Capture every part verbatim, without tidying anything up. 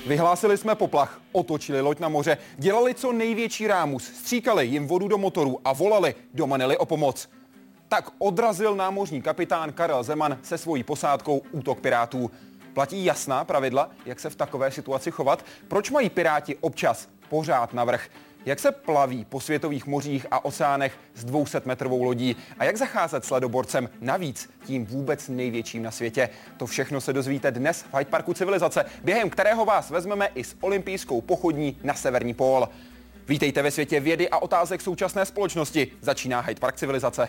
Vyhlásili jsme poplach, otočili loď na moře, dělali co největší rámus, stříkali jim vodu do motorů a volali do Manily o pomoc. Tak odrazil námořní kapitán Karel Zeman se svojí posádkou útok pirátů. Platí jasná pravidla, jak se v takové situaci chovat? Proč mají piráti občas pořád navrch? Jak se plaví po světových mořích a oceánech s dvousetmetrovou lodí? A jak zacházet s ledoborcem, navíc tím vůbec největším na světě? To všechno se dozvíte dnes v Hyde Parku Civilizace, během kterého vás vezmeme i s olympijskou pochodní na severní pól. Vítejte ve světě vědy a otázek současné společnosti. Začíná Hyde Park Civilizace.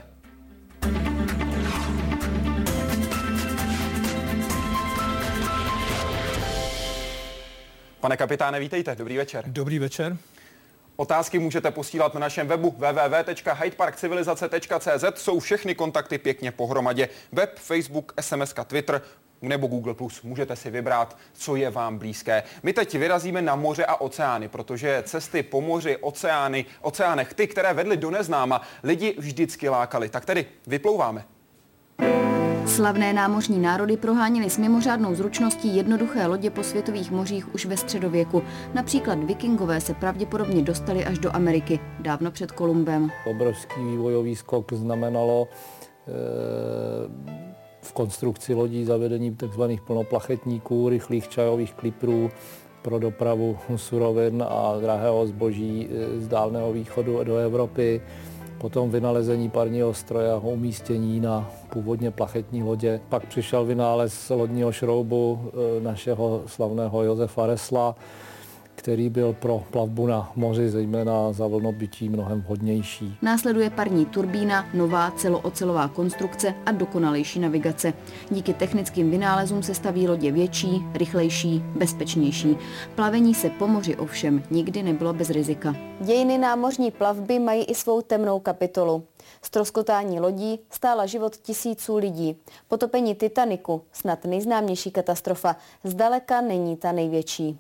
Pane kapitáne, vítejte. Dobrý večer. Dobrý večer. Otázky můžete posílat na našem webu w w w tečka hyde park civilizace tečka c z. Jsou všechny kontakty pěkně pohromadě. Web, Facebook, es em es ka, Twitter nebo Google plus. Můžete si vybrat, co je vám blízké. My teď vyrazíme na moře a oceány, protože cesty po moři, oceány, oceánech, ty, které vedly do neznáma, lidi vždycky lákaly. Tak tedy vyplouváme. Slavné námořní národy proháněly s mimořádnou zručností jednoduché lodě po světových mořích už ve středověku. Například vikingové se pravděpodobně dostali až do Ameriky, dávno před Kolumbem. Obrovský vývojový skok znamenalo e, v konstrukci lodí zavedení tzv. Plnoplachetníků, rychlých čajových kliprů pro dopravu surovin a drahého zboží z Dálného východu do Evropy. Potom vynalezení parního stroje a umístění na původně plachetní lodě. Pak přišel vynález lodního šroubu našeho slavného Josefa Ressla, který byl pro plavbu na moři, zejména za vlnobytí, mnohem vhodnější. Následuje parní turbína, nová celoocelová konstrukce a dokonalejší navigace. Díky technickým vynálezům se staví lodě větší, rychlejší, bezpečnější. Plavení se po moři ovšem nikdy nebylo bez rizika. Dějiny námořní plavby mají i svou temnou kapitolu. Ztroskotání lodí stála život tisíců lidí. Potopení Titaniku, snad nejznámější katastrofa, zdaleka není ta největší.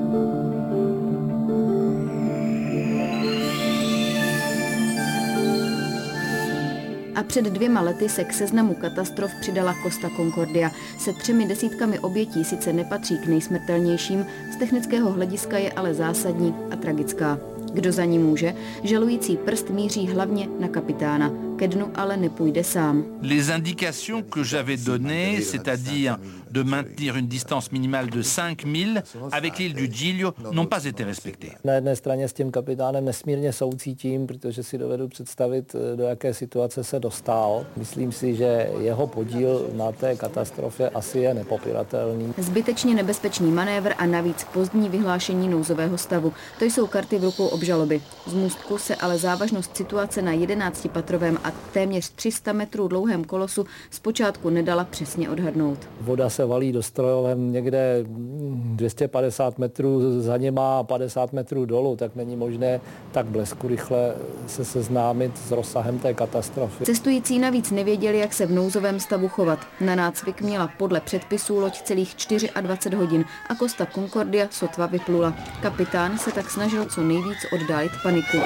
A před dvěma lety se k seznamu katastrof přidala Costa Concordia. Se třemi desítkami obětí sice nepatří k nejsmrtelnějším, z technického hlediska je ale zásadní a tragická. Kdo za ní může? Žalující prst míří hlavně na kapitána. Ke dnu ale nepůjde sám. Les indications que j'avais données, c'est-à-dire de maintenir une distance minimale de cinq milles avec l'île du Giglio, n'ont pas été respectées. Na jedné straně s tím kapitánem nesmírně soucítím, protože si dovedu představit, do jaké situace se dostal. Myslím si, že jeho podíl na té katastrofě asi je nepopiratelný. Zbytečně nebezpečný manévr a navíc pozdní vyhlášení nouzového stavu. To jsou karty v rukou obžaloby. Z můstku se ale závažnost situace na jedenáctipatrovém a téměř tři sta metrů dlouhém kolosu zpočátku nedala přesně odhadnout. Voda se valí do strojoven někde dvě stě padesát metrů za něma a padesát metrů dolů, tak není možné tak blesku rychle se seznámit s rozsahem té katastrofy. Cestující navíc nevěděli, jak se v nouzovém stavu chovat. Na nácvik měla podle předpisů loď celých dvacet čtyři hodin a Costa Concordia sotva vyplula. Kapitán se tak snažil co nejvíc oddálit paniku.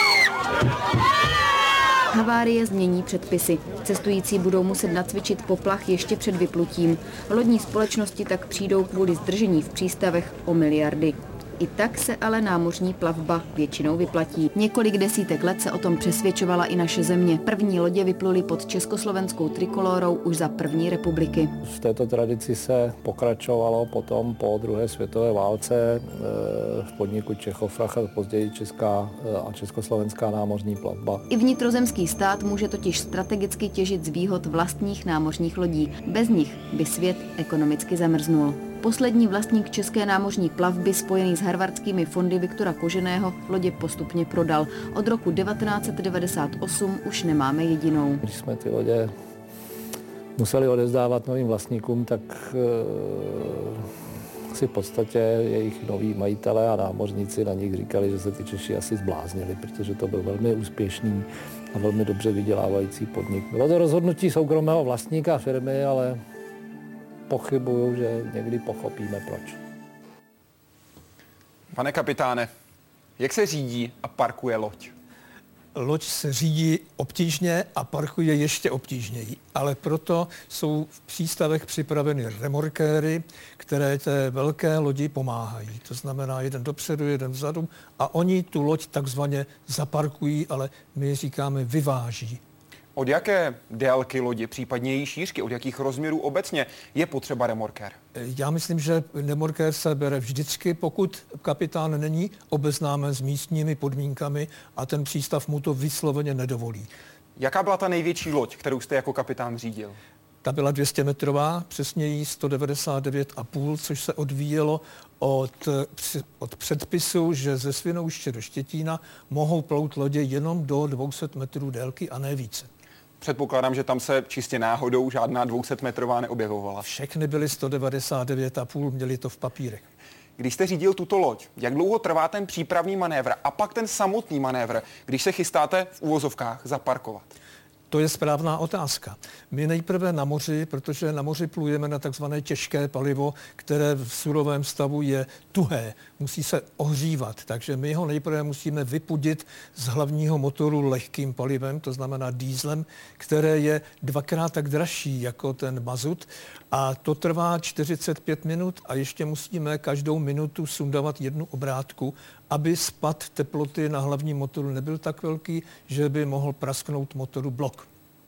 Havárie změní předpisy. Cestující budou muset nacvičit poplach ještě před vyplutím. Lodní společnosti tak přijdou kvůli zdržení v přístavech o miliardy. I tak se ale námořní plavba většinou vyplatí. Několik desítek let se o tom přesvědčovala i naše země. První lodě vypluly pod československou trikolórou už za první republiky. V této tradici se pokračovalo potom po druhé světové válce v podniku Čechofrach a později česká a československá námořní plavba. I vnitrozemský stát může totiž strategicky těžit z výhod vlastních námořních lodí. Bez nich by svět ekonomicky zamrznul. Poslední vlastník české námořní plavby spojený s harvardskými fondy Viktora Koženého lodě postupně prodal. Od roku devatenáct set devadesát osm už nemáme jedinou. Když jsme ty lodě museli odevzdávat novým vlastníkům, tak e, si v podstatě jejich noví majitelé a námořníci na nich říkali, že se ty Češi asi zbláznili, protože to byl velmi úspěšný a velmi dobře vydělávající podnik. Bylo to rozhodnutí soukromého vlastníka firmy, ale pochybuju, že někdy pochopíme proč. Pane kapitáne, jak se řídí a parkuje loď? Loď se řídí obtížně a parkuje ještě obtížněji, ale proto jsou v přístavech připraveny remorkéry, které té velké lodi pomáhají. To znamená jeden dopředu, jeden vzadu a oni tu loď takzvaně zaparkují, ale my říkáme vyváží. Od jaké délky lodi, případně její šířky, od jakých rozměrů obecně je potřeba remorkér? Já myslím, že remorkér se bere vždycky, pokud kapitán není obeznámen s místními podmínkami a ten přístav mu to vysloveně nedovolí. Jaká byla ta největší loď, kterou jste jako kapitán řídil? Ta byla dvě stě metrová, přesněji sto devadesát devět a půl, což se odvíjelo od, od předpisu, že ze Svinouště do Štětína mohou plout lodě jenom do dvě stě metrů délky a ne více. Předpokládám, že tam se čistě náhodou žádná dvousetmetrová neobjevovala. Všechny byly sto devadesát devět a půl, měli to v papírech. Když jste řídil tuto loď, jak dlouho trvá ten přípravný manévr a pak ten samotný manévr, když se chystáte v úvozovkách zaparkovat? To je správná otázka. My nejprve na moři, protože na moři plujeme na takzvané těžké palivo, které v surovém stavu je tuhé, musí se ohřívat, takže my ho nejprve musíme vypudit z hlavního motoru lehkým palivem, to znamená dýzlem, které je dvakrát tak dražší jako ten mazut a to trvá čtyřicet pět minut a ještě musíme každou minutu sundavat jednu obrátku, aby spad teploty na hlavním motoru nebyl tak velký, že by mohl prasknout motoru blok.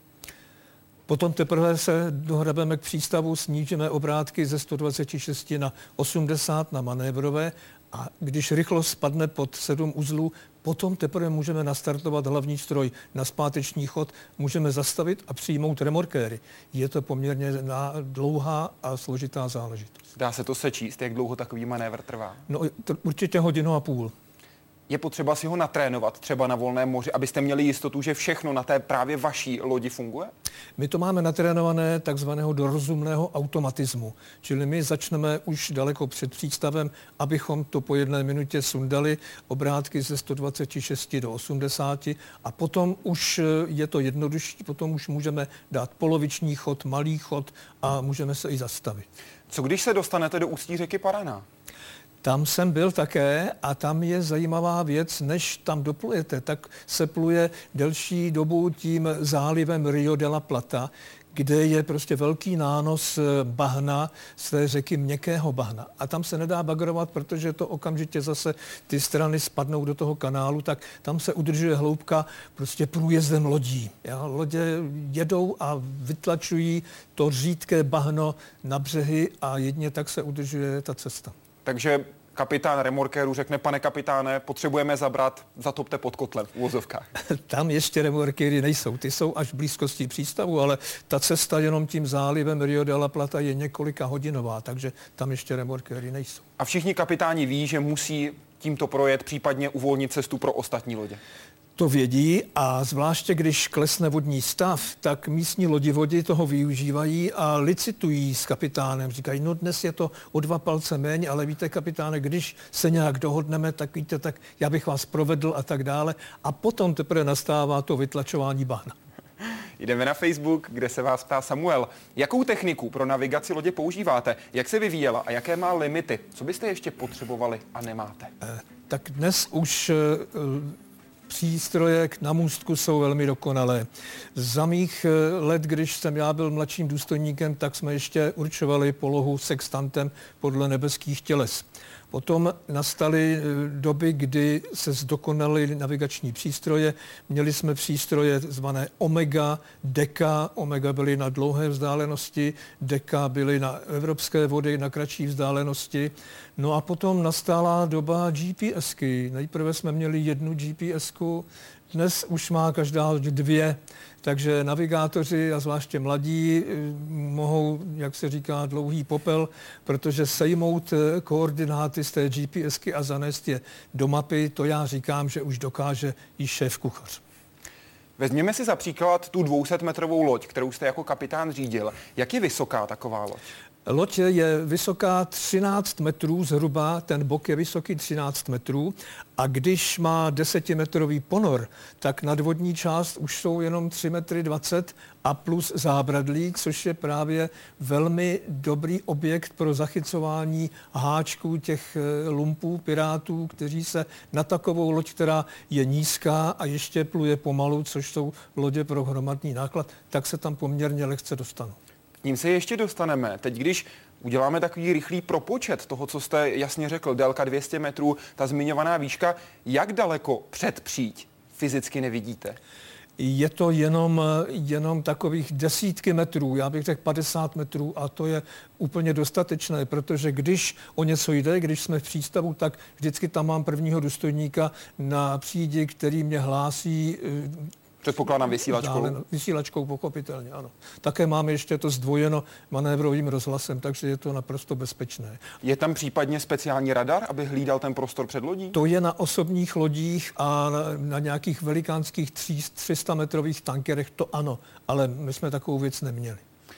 Potom teprve se dohrabeme k přístavu, snížíme obrátky ze sto dvacet šest na osmdesát na manévrové a když rychlost spadne pod sedm uzlů, potom teprve můžeme nastartovat hlavní stroj na zpáteční chod, můžeme zastavit a přijmout remorkéry. Je to poměrně dlouhá a složitá záležitost. Dá se to sečíst, jak dlouho takový manévr trvá? No určitě hodinu a půl. Je potřeba si ho natrénovat třeba na volném moři, abyste měli jistotu, že všechno na té právě vaší lodi funguje? My to máme natrénované takzvaného do rozumného automatismu. Čili my začneme už daleko před přístavem, abychom to po jedné minutě sundali obrátky ze sto dvacet šest do osmdesáti a potom už je to jednodušší, potom už můžeme dát poloviční chod, malý chod a můžeme se i zastavit. Co když se dostanete do ústí řeky Paraná? Tam jsem byl také a tam je zajímavá věc, než tam doplujete, tak se pluje delší dobu tím zálivem Rio de la Plata, kde je prostě velký nános bahna z té řeky měkkého bahna. A tam se nedá bagrovat, protože to okamžitě zase ty strany spadnou do toho kanálu, tak tam se udržuje hloubka prostě průjezdem lodí. Já, lodě jedou a vytlačují to řídké bahno na břehy a jedině tak se udržuje ta cesta. Takže kapitán remorkéru řekne, pane kapitáne, potřebujeme zabrat, zatopte pod kotlem v uvozovkách. Tam ještě remorkéry nejsou, ty jsou až v blízkosti přístavu, ale ta cesta jenom tím zálivem Rio de la Plata je několika hodinová, takže tam ještě remorkéry nejsou. A všichni kapitáni ví, že musí tímto projet, případně uvolnit cestu pro ostatní lodě. To vědí a zvláště když klesne vodní stav, tak místní lodivodi toho využívají a licitují s kapitánem. Říkají, no dnes je to o dva palce méně, ale víte kapitáne, když se nějak dohodneme, tak víte, tak já bych vás provedl a tak dále. A potom teprve nastává to vytlačování bahna. Jdeme na Facebook, kde se vás ptá Samuel. Jakou techniku pro navigaci lodě používáte? Jak se vyvíjela a jaké má limity? Co byste ještě potřebovali a nemáte? Eh, tak dnes už eh, přístroje na můstku jsou velmi dokonalé. Za mých let, když jsem já byl mladším důstojníkem, tak jsme ještě určovali polohu sextantem podle nebeských těles. Potom nastaly doby, kdy se zdokonaly navigační přístroje. Měli jsme přístroje zvané Omega, Deka. Omega byly na dlouhé vzdálenosti, Deka byly na evropské vody na kratší vzdálenosti. No a potom nastala doba GPSky. Nejprve jsme měli jednu GPSku, dnes už má každá dvě. Takže navigátoři a zvláště mladí mohou, jak se říká, dlouhý popel, protože sejmout koordináty z té GPSky a zanést je do mapy, to já říkám, že už dokáže i šéf kuchař. Vezměme si za příklad tu dvousetmetrovou loď, kterou jste jako kapitán řídil. Jak je vysoká taková loď? Loď je vysoká třináct metrů zhruba, ten bok je vysoký třináct metrů a když má desetimetrový ponor, tak nadvodní část už jsou jenom tři metry dvacet a plus zábradlí, což je právě velmi dobrý objekt pro zachycování háčků těch lumpů, pirátů, kteří se na takovou loď, která je nízká a ještě pluje pomalu, což jsou lodě pro hromadný náklad, tak se tam poměrně lehce dostanou. K ním se ještě dostaneme. Teď, když uděláme takový rychlý propočet toho, co jste jasně řekl, délka dvě stě metrů, ta zmiňovaná výška, jak daleko před příď fyzicky nevidíte? Je to jenom, jenom takových desítky metrů, já bych řekl padesát metrů a to je úplně dostatečné, protože když o něco jde, když jsme v přístavu, tak vždycky tam mám prvního důstojníka na přídi, který mě hlásí. Předpokládám vysílačkou. Dále, vysílačkou pochopitelně, ano. Také máme ještě to zdvojeno manévrovým rozhlasem, takže je to naprosto bezpečné. Je tam případně speciální radar, aby hlídal ten prostor před lodí? To je na osobních lodích a na, na nějakých velikánských tři sta metrových tankerech, to ano, ale my jsme takovou věc neměli.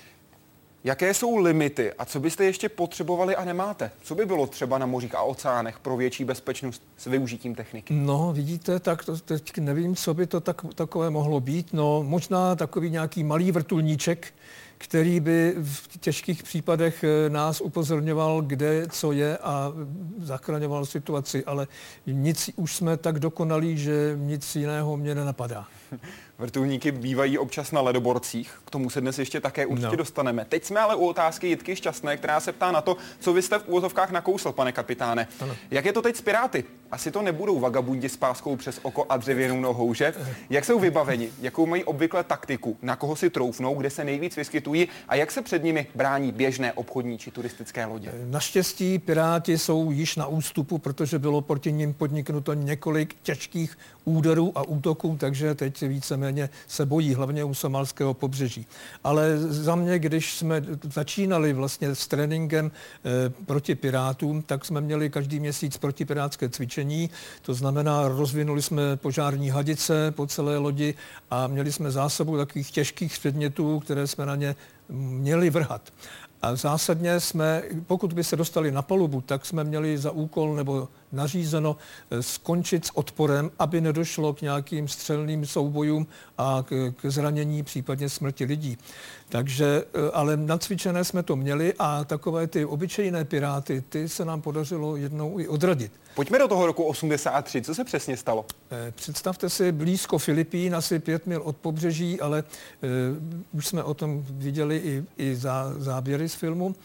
Jaké jsou limity a co byste ještě potřebovali a nemáte? Co by bylo třeba na mořích a oceánech pro větší bezpečnost s využitím techniky? No, vidíte, tak to, teď nevím, co by to tak, takové mohlo být. No, možná takový nějaký malý vrtulníček, který by v těžkých případech nás upozorňoval, kde co je a zachraňoval situaci, ale nic už jsme tak dokonalí, že nic jiného mě nenapadá. Vrtulníky bývají občas na ledoborcích, k tomu se dnes ještě také určitě no. dostaneme. Teď jsme ale u otázky Jitky Šťastné, která se ptá na to, co vy jste v úvozovkách nakousl, pane kapitáne. Ano. Jak je to teď s piráty? Asi to nebudou vagabundi s páskou přes oko a dřevěnou nohou, že? Jak jsou vybaveni? Jakou mají obvykle taktiku? Na koho si troufnou? Kde se nejvíc vyskytují? A jak se před nimi brání běžné obchodní či turistické lodě? Naštěstí piráti jsou již na ústupu, protože bylo proti nim podniknuto několik těžkých úderů a útoků, takže teď víceméně se bojí, hlavně u somalského pobřeží. Ale za mě, když jsme začínali vlastně s tréninkem e, proti pirátům, tak jsme měli každý měsíc protipirátské cvičení, to znamená, rozvinuli jsme požární hadice po celé lodi a měli jsme zásobu takových těžkých předmětů, které jsme na ně měli vrhat. A zásadně jsme, pokud by se dostali na palubu, tak jsme měli za úkol nebo nařízeno skončit s odporem, aby nedošlo k nějakým střelným soubojům a k, k zranění, případně smrti lidí. Takže, ale nacvičené jsme to měli a takové ty obyčejné piráty, ty se nám podařilo jednou i odradit. Pojďme do toho roku osmdesát tři. Co se přesně stalo? Představte si blízko Filipín, asi pět mil od pobřeží, ale uh, už jsme o tom viděli i, i zá, záběry z filmu.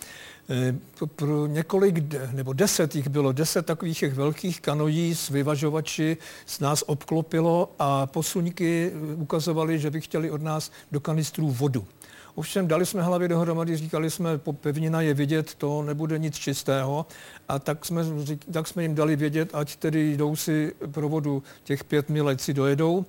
Uh, pro několik, nebo deset jich bylo, deset takových velkých kanojí s vyvažovači s nás obklopilo a posuňky ukazovaly, že by chtěli od nás do kanistrů vodu. Ovšem dali jsme hlavy dohromady, říkali jsme, po pevnina je vidět, to nebude nic čistého. A tak jsme, tak jsme jim dali vědět, ať tedy jdou si pro vodu těch pět mil, ať si dojedou.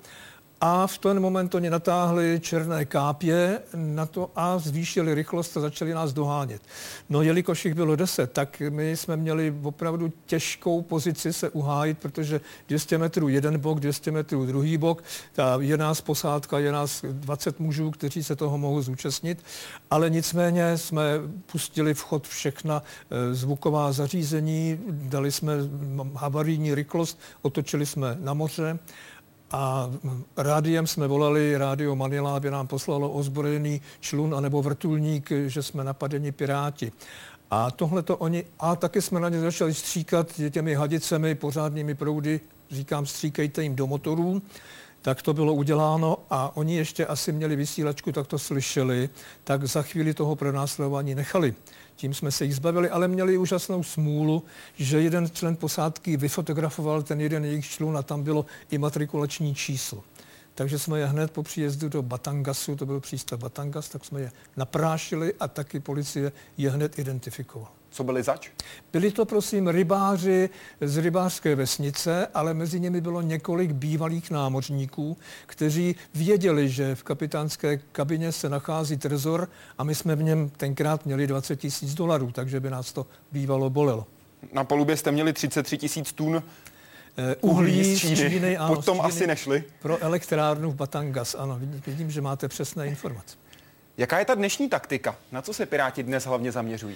A v ten moment oni natáhli černé kápě na to a zvýšili rychlost a začali nás dohánět. No jelikož jich bylo deset, tak my jsme měli opravdu těžkou pozici se uhájit, protože dvě stě metrů jeden bok, dvě stě metrů druhý bok, ta je nás posádka, je nás dvacet mužů, kteří se toho mohou zúčastnit, ale nicméně jsme pustili v chod všechna zvuková zařízení, dali jsme havarijní rychlost, otočili jsme na moře. A rádiem jsme volali, Rádio Manila, aby nám poslalo ozbrojený člun anebo vrtulník, že jsme napadeni piráti. A tohle to oni, a taky jsme na ně začali stříkat těmi hadicemi, pořádnými proudy, říkám, stříkejte jim do motorů. Tak to bylo uděláno a oni ještě asi měli vysílačku, tak to slyšeli, tak za chvíli toho pronásledování nechali. Tím jsme se jich zbavili, ale měli úžasnou smůlu, že jeden člen posádky vyfotografoval ten jeden jejich člun a tam bylo i matrikulační číslo. Takže jsme je hned po příjezdu do Batangasu, to byl přístav Batangas, tak jsme je naprášili a taky policie je hned identifikovala. Co byli zač? Byli to, prosím, rybáři z rybářské vesnice, ale mezi nimi bylo několik bývalých námořníků, kteří věděli, že v kapitánské kabině se nachází trezor a my jsme v něm tenkrát měli dvacet tisíc dolarů, takže by nás to bývalo bolelo. Na palubě jste měli třicet tři tisíc tun uhlí, uhlí z Číny. Z Číny ano, Pod tom asi nešli. Pro elektrárnu v Batangas, ano, vidím, že máte přesné informace. Jaká je ta dnešní taktika? Na co se Piráti dnes hlavně zaměřují?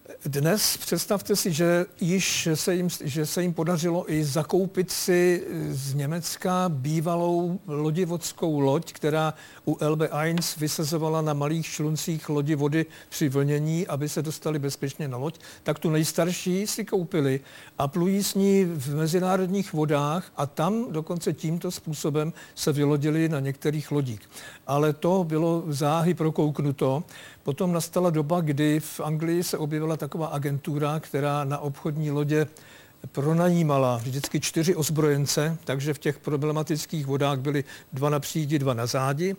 Dnes představte si, že již se jim, že se jim podařilo i zakoupit si z Německa bývalou lodivodskou loď, která u Elbe jedna vysazovala na malých čluncích lodi vody při vlnění, aby se dostali bezpečně na loď. Tak tu nejstarší si koupili a plují s ní v mezinárodních vodách a tam dokonce tímto způsobem se vylodili na některých lodích. Ale to bylo záhy prokouknuto. Potom nastala doba, kdy v Anglii se objevila taková agentura, která na obchodní lodě pronajímala vždycky čtyři ozbrojence, takže v těch problematických vodách byly dva na přídi, dva na zádi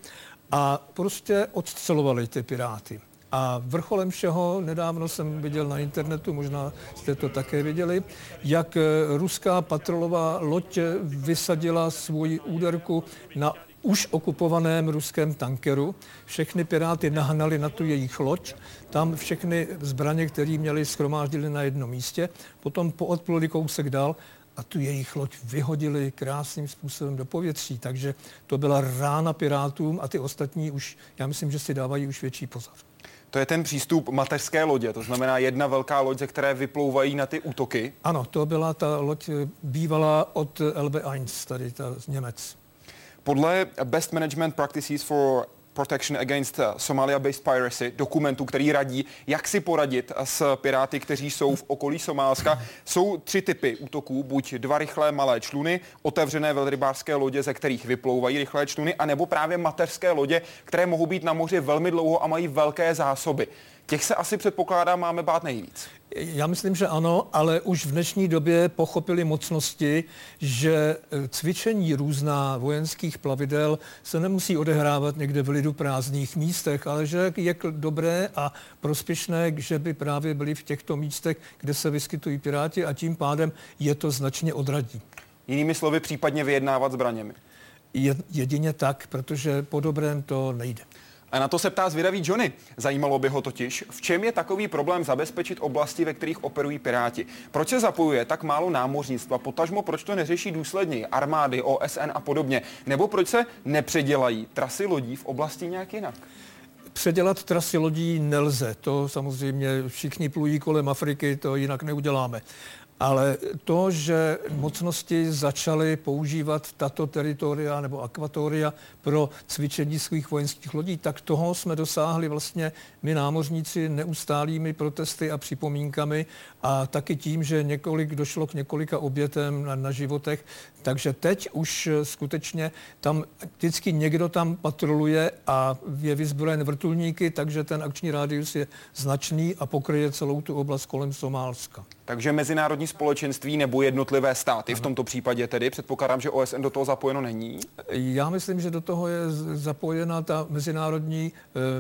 a prostě odcelovali ty piráty. A vrcholem všeho, nedávno jsem viděl na internetu, možná jste to také viděli, jak ruská patrolová loď vysadila svoji úderku na už okupovaném ruském tankeru. Všechny piráty nahnali na tu jejich loď, tam všechny zbraně, které měli, shromáždili na jednom místě, potom poodpluli kousek dál a tu jejich loď vyhodili krásným způsobem do povětří. Takže to byla rána pirátům a ty ostatní už, já myslím, že si dávají už větší pozor. To je ten přístup mateřské lodě, to znamená jedna velká loď, ze které vyplouvají na ty útoky. Ano, to byla ta loď bývalá od Elbe jedna, tady ta z Němec. Podle Best Management Practices for Protection Against Somalia-Based Piracy, dokumentu, který radí, jak si poradit s piráty, kteří jsou v okolí Somálska, jsou tři typy útoků. Buď dva rychlé malé čluny, otevřené velrybářské lodě, ze kterých vyplouvají rychlé čluny, anebo právě mateřské lodě, které mohou být na moři velmi dlouho a mají velké zásoby. Těch se asi předpokládá máme bát nejvíc. Já myslím, že ano, ale už v dnešní době pochopili mocnosti, že cvičení různá vojenských plavidel se nemusí odehrávat někde v lidu prázdných místech, ale že je dobré a prospěšné, že by právě byli v těchto místech, kde se vyskytují piráti a tím pádem je to značně odradí. Jinými slovy případně vyjednávat zbraněmi. Je, jedině tak, protože po dobrém to nejde. A na to se ptá zvědavý Johnny. Zajímalo by ho totiž, v čem je takový problém zabezpečit oblasti, ve kterých operují piráti. Proč se zapojuje tak málo námořnictva, potažmo proč to neřeší důsledněji armády, O S N a podobně, nebo proč se nepředělají trasy lodí v oblasti nějak jinak? Předělat trasy lodí nelze, to samozřejmě všichni plují kolem Afriky, to jinak neuděláme. Ale to, že mocnosti začaly používat tato teritoria nebo akvatoria pro cvičení svých vojenských lodí, tak toho jsme dosáhli vlastně my námořníci neustálými protesty a připomínkami a taky tím, že několik došlo k několika obětem na, na životech. Takže teď už skutečně tam vždycky někdo tam patroluje a je vyzbrojen vrtulníky, takže ten akční rádius je značný a pokryje celou tu oblast kolem Somálska. Takže mezinárodní společenství nebo jednotlivé státy, v tomto případě tedy, předpokládám, že O S N do toho zapojeno není? Já myslím, že do toho je zapojena ta mezinárodní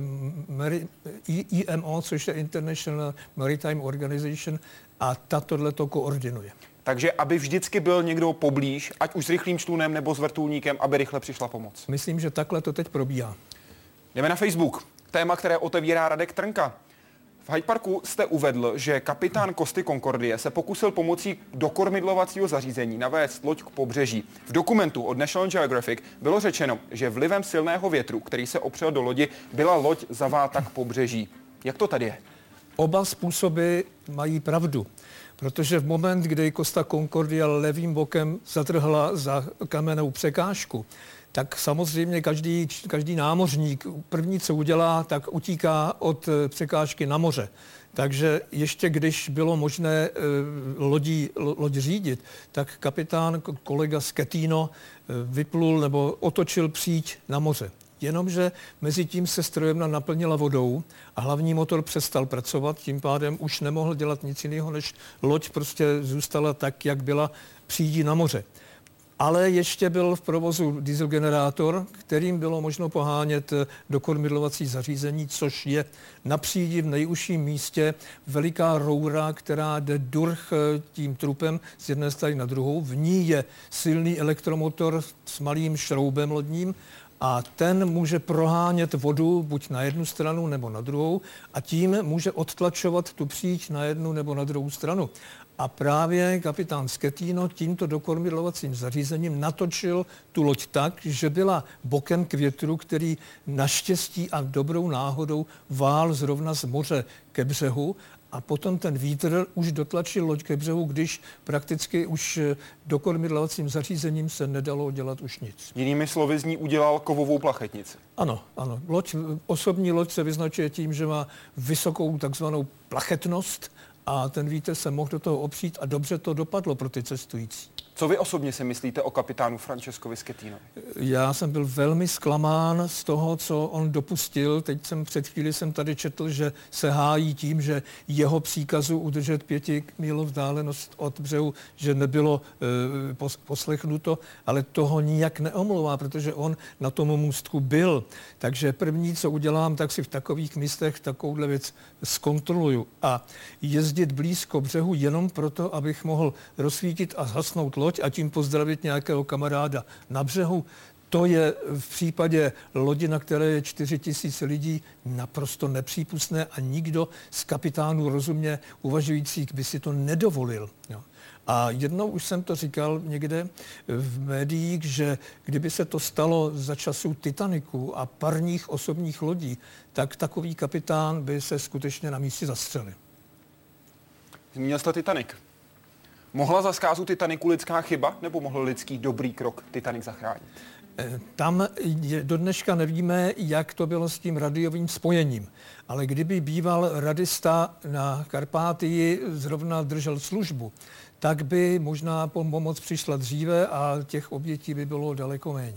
I M O, což je International Maritime Organization, a ta tohleto koordinuje. Takže aby vždycky byl někdo poblíž, ať už s rychlým člunem nebo s vrtulníkem, aby rychle přišla pomoc. Myslím, že takhle to teď probíhá. Jdeme na Facebook. Téma, které otevírá Radek Trnka. V Hyde Parku jste uvedl, že kapitán Costi Concordie se pokusil pomocí dokormidlovacího zařízení navést loď k pobřeží. V dokumentu od National Geographic bylo řečeno, že vlivem silného větru, který se opřel do lodi, byla loď zaváta k pobřeží. Jak to tady je? Oba způsoby mají pravdu, protože v moment, kdy Costa Concordia levým bokem zatrhla za kamennou překážku, tak samozřejmě každý, každý námořník první, co udělá, tak utíká od překážky na moře. Takže ještě když bylo možné e, lodí, loď řídit, tak kapitán, kolega Schettino, e, vyplul nebo otočil příď na moře. Jenomže mezi tím se strojemna naplnila vodou a hlavní motor přestal pracovat, tím pádem už nemohl dělat nic jiného, než loď prostě zůstala tak, jak byla přídí na moře. Ale ještě byl v provozu dieselgenerátor, kterým bylo možno pohánět dokormidlovací zařízení, což je na přídi v nejužším místě veliká roura, která jde durch tím trupem z jedné strany na druhou. V ní je silný elektromotor s malým šroubem lodním a ten může prohánět vodu buď na jednu stranu nebo na druhou a tím může odtlačovat tu příč na jednu nebo na druhou stranu. A právě kapitán Schettino tímto dokormidlovacím zařízením natočil tu loď tak, že byla bokem k větru, který naštěstí a dobrou náhodou vál zrovna z moře ke břehu. A potom ten vítr už dotlačil loď ke břehu, když prakticky už dokormidlovacím zařízením se nedalo dělat už nic. Jinými slovy z ní udělal kovovou plachetnici. Ano, ano. Loď, osobní loď se vyznačuje tím, že má vysokou takzvanou plachetnost a ten vítr se mohl do toho opřít a dobře to dopadlo pro ty cestující. Co vy osobně si myslíte o kapitánu Francescovi Schettinovi? Já jsem byl velmi zklamán z toho, co on dopustil. Teď jsem před chvíli jsem tady četl, že se hájí tím, že jeho příkazu udržet pěti mílů vzdálenost od břehu, že nebylo e, pos, poslechnuto, ale toho nijak neomlouvá, protože on na tom můstku byl. Takže první, co udělám, tak si v takových místech takovouhle věc zkontroluju. A jezdit blízko břehu jenom proto, abych mohl rozsvítit a zhasnout loď a tím pozdravit nějakého kamaráda na břehu, to je v případě lodi, na které je čtyři tisíce lidí, naprosto nepřípustné a nikdo z kapitánů rozumně uvažujících by si to nedovolil. Jo. A jednou už jsem to říkal někde v médiích, že kdyby se to stalo za časů Titaniku a parních osobních lodí, tak takový kapitán by se skutečně na místě zastřelil. Zmínil jste Titanic. Mohla za zkázu Titaniku lidská chyba, nebo mohl lidský dobrý krok Titanic zachránit? Tam je, do dneška nevíme, jak to bylo s tím radiovým spojením. Ale kdyby býval radista na Karpátii zrovna držel službu, tak by možná pomoc přišla dříve a těch obětí by bylo daleko méně.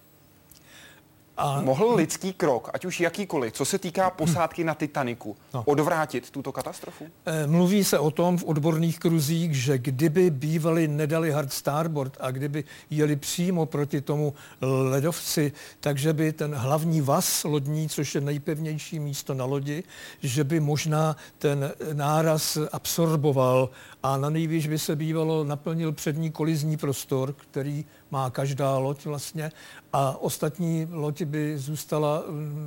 A mohl lidský krok, ať už jakýkoliv, co se týká posádky na Titaniku, no. odvrátit tuto katastrofu? Mluví se o tom v odborných kruzích, že kdyby bývali nedali hard starboard a kdyby jeli přímo proti tomu ledovci, takže by ten hlavní vas lodní, což je nejpevnější místo na lodi, že by možná ten náraz absorboval a na nejvýš by se bývalo naplnil přední kolizní prostor, který má každá loď vlastně, a ostatní loď by zůstala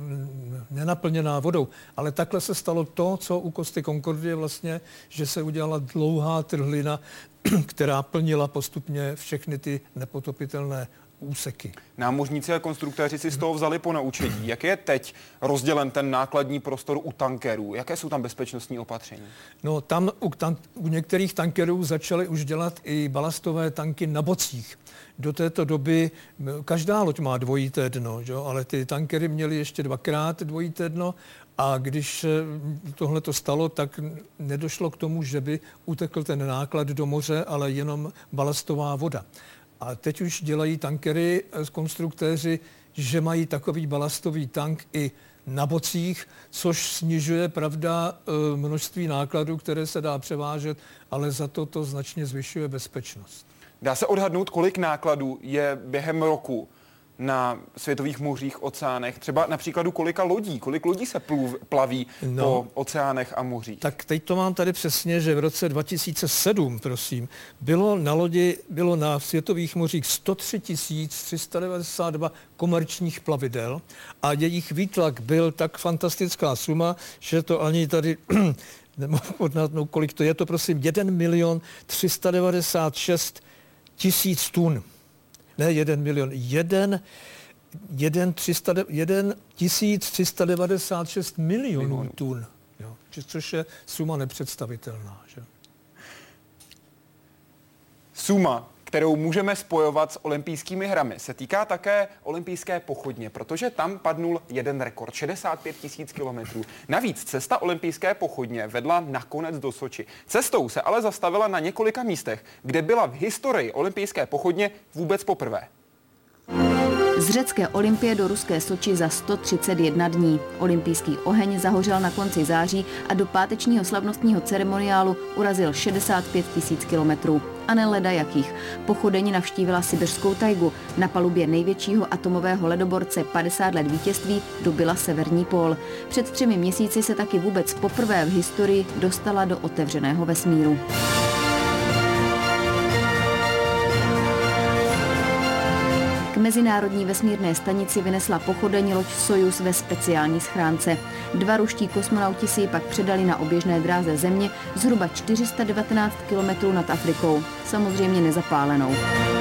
nenaplněná vodou. Ale takhle se stalo to, co u Costi Concordie vlastně, že se udělala dlouhá trhlina, která plnila postupně všechny ty nepotopitelné úseky. Námořníci a konstruktéři si z toho vzali po naučení. Jak je teď rozdělen ten nákladní prostor u tankerů? Jaké jsou tam bezpečnostní opatření? No tam u, tan- u některých tankerů začaly už dělat i balastové tanky na bocích. Do této doby každá loď má dvojité dno, že? Ale ty tankery měly ještě dvakrát dvojité dno a když tohle to stalo, tak nedošlo k tomu, že by utekl ten náklad do moře, ale jenom balastová voda. A teď už dělají tankery konstruktéři, že mají takový balastový tank i na bocích, což snižuje, pravda, množství nákladů, které se dá převážet, ale za to to značně zvyšuje bezpečnost. Dá se odhadnout, kolik nákladů je během roku na světových mořích, oceánech, třeba na příkladu kolika lodí, kolik lodí se pluv, plaví no, po oceánech a mořích? Tak teď to mám tady přesně, že v roce dva tisíce sedm, prosím, bylo na lodi, bylo na světových mořích sto tři tisíc tři sta devadesát dva komerčních plavidel a jejich výtlak byl tak fantastická suma, že to ani tady nemohu odhadnout, kolik to je, to prosím jeden milion tři sta devadesát šest tisíc tun. Ne jeden milion, jeden, jeden, třista, jeden tisíc tři sta devadesát šest milionů tun, jo, což je suma nepředstavitelná. Že? Suma, kterou můžeme spojovat s olympijskými hrami, se týká také olympijské pochodně, protože tam padnul jeden rekord, šedesát pět tisíc kilometrů. Navíc cesta olympijské pochodně vedla nakonec do Soči. Cestou se ale zastavila na několika místech, kde byla v historii olympijské pochodně vůbec poprvé. Z řecké Olympie do ruské Soči za sto třicet jedna dní. Olympijský oheň zahořel na konci září a do pátečního slavnostního ceremoniálu urazil šedesát pět tisíc kilometrů. A ne leda jakých. Pochodeň navštívila sibiřskou tajgu. Na palubě největšího atomového ledoborce padesát let vítězství dobyla severní pól. Před třemi měsíci se taky vůbec poprvé v historii dostala do otevřeného vesmíru. K mezinárodní vesmírné stanici vynesla pochodeň loď Sojuz ve speciální schránce. Dva ruští kosmonauti si ji pak předali na oběžné dráze Země zhruba čtyři sta devatenáct kilometrů nad Afrikou. Samozřejmě nezapálenou.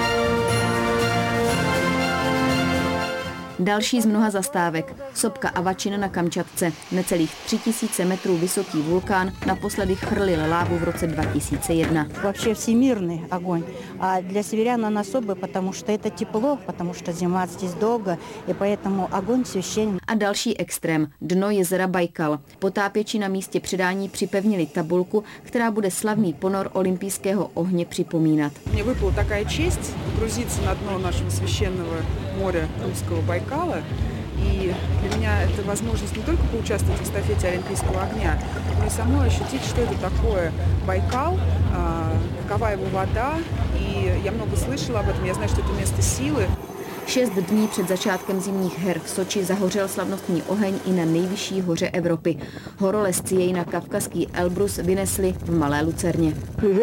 Další z mnoha zastávek. Sopka Avačina na Kamčatce. Necelých tři tisíce metrů vysoký vulkán naposledy chrlil lávu v roce dva tisíce jedna. Вообще всемирный огонь. А для северян он особый, потому что это тепло, потому что зима здесь долго, и поэтому огонь священен. A další extrém. Dno jezera Bajkal. Potápěči na místě předání připevnili tabulku, která bude slavný ponor olympijského ohně připomínat. Мне выпала такая честь погрузиться на дно нашего священного моря русского Байкала. И для меня это возможность не только поучаствовать в эстафете Олимпийского огня, но и самой ощутить, что это такое Байкал, какова его вода. И я много слышала об этом, я знаю, что это место силы. Šest dní před začátkem zimních her v Soči zahořel slavnostní oheň i na nejvyšší hoře Evropy. Horolezci jej na kavkazský Elbrus vynesli v Malé Lucerně.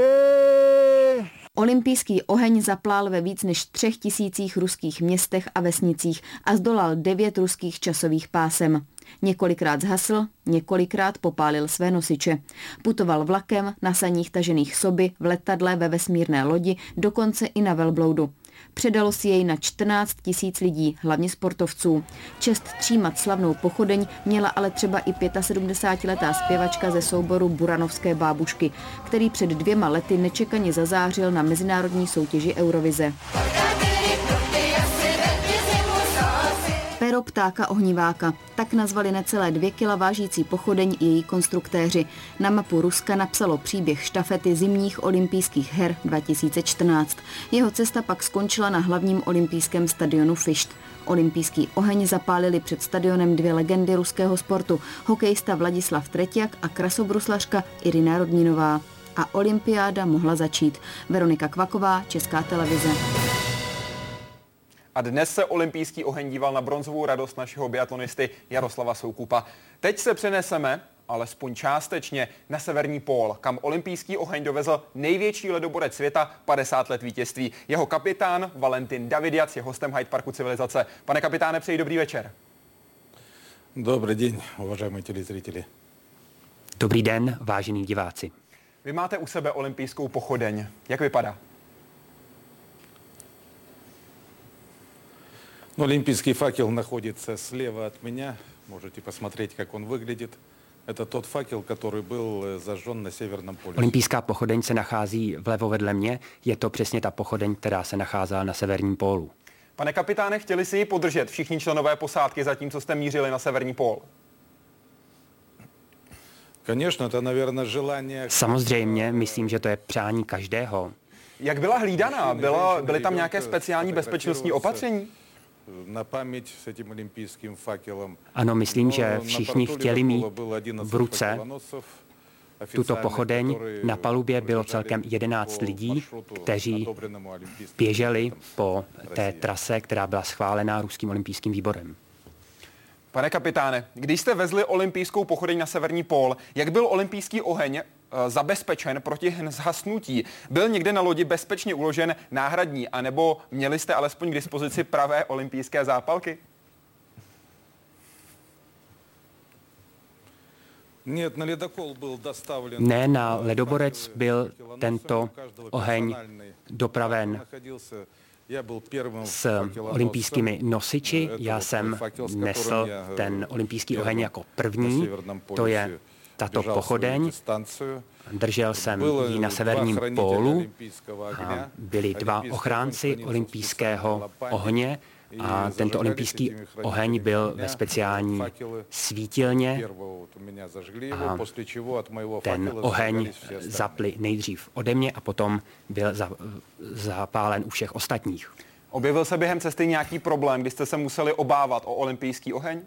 Olympijský oheň zaplál ve víc než třech tisících ruských městech a vesnicích a zdolal devět ruských časových pásem. Několikrát zhasl, několikrát popálil své nosiče. Putoval vlakem, na saních tažených soby, v letadle, ve vesmírné lodi, dokonce i na velbloudu. Předalo si jej na čtrnáct tisíc lidí, hlavně sportovců. Čest třímat slavnou pochodeň měla ale třeba i sedmdesátiletá zpěvačka ze souboru Buranovské bábušky, který před dvěma lety nečekaně zazářil na mezinárodní soutěži Eurovize. Pero ptáka ohniváka. Tak nazvali necelé dvě kila vážící pochodeň i její konstruktéři. Na mapu Ruska napsalo příběh štafety zimních olympijských her dva tisíce čtrnáct. Jeho cesta pak skončila na hlavním olympijském stadionu Fišt. Olympijský oheň zapálili před stadionem dvě legendy ruského sportu, hokejista Vladislav Treťjak a krasobruslařka Irina Rodninová. A olympiáda mohla začít. Veronika Kvaková, Česká televize. A dnes se olympijský oheň díval na bronzovou radost našeho biatlonisty Jaroslava Soukupa. Teď se přeneseme, alespoň částečně, na severní pól, kam olympijský oheň dovezl největší ledoborec světa, padesát let vítězství. Jeho kapitán Valentin Davidiac je hostem Hyde Parku Civilizace. Pane kapitáne, přeji dobrý večer. Dobrý den, uvažujeme telezřiteli. Dobrý den, vážení diváci. Vy máte u sebe olympijskou pochodeň. Jak vypadá? Олимпийский факел находится слева от меня. Можете посмотреть, как он выглядит. Это тот факел, который был зажжен на Северном полюсе. Olympijská pochodeň se nachází vlevo vedle mě. Je to přesně ta pochodeň, která se nacházela na severním pólu. Pane kapitáne, chtěli si ji podržet všichni členové posádky, zatímco jste mířili na severní pól? Конечно, это, наверное, желание... Samozřejmě, myslím, že to je přání každého. Jak byla hlídaná? Byla, byly tam nějaké speciální bezpečnostní opatření? Na paměť s tím olympijským fakelem. Ano, myslím, že všichni chtěli mít v ruce tuto pochodeň. Na palubě bylo celkem jedenáct lidí, kteří běželi po té trase, která byla schválená ruským olympijským výborem. Pane kapitáne, když jste vezli olympijskou pochodeň na severní pól, jak byl olympijský oheň e, zabezpečen proti zhasnutí? Byl někde na lodi bezpečně uložen náhradní, anebo měli jste alespoň k dispozici pravé olympijské zápalky? Ne, na ledoborec byl tento oheň dopraven s olympijskými nosiči. Já jsem nesl ten olympijský oheň jako první. To je tato pochodeň. Držel jsem ji na severním pólu a byli dva ochránci olympijského ohně a tento olympijský oheň byl ve speciální svítilně a ten oheň zapli nejdřív ode mě a potom byl zapálen u všech ostatních. Objevil se během cesty nějaký problém, kdy jste se museli obávat o olympijský oheň?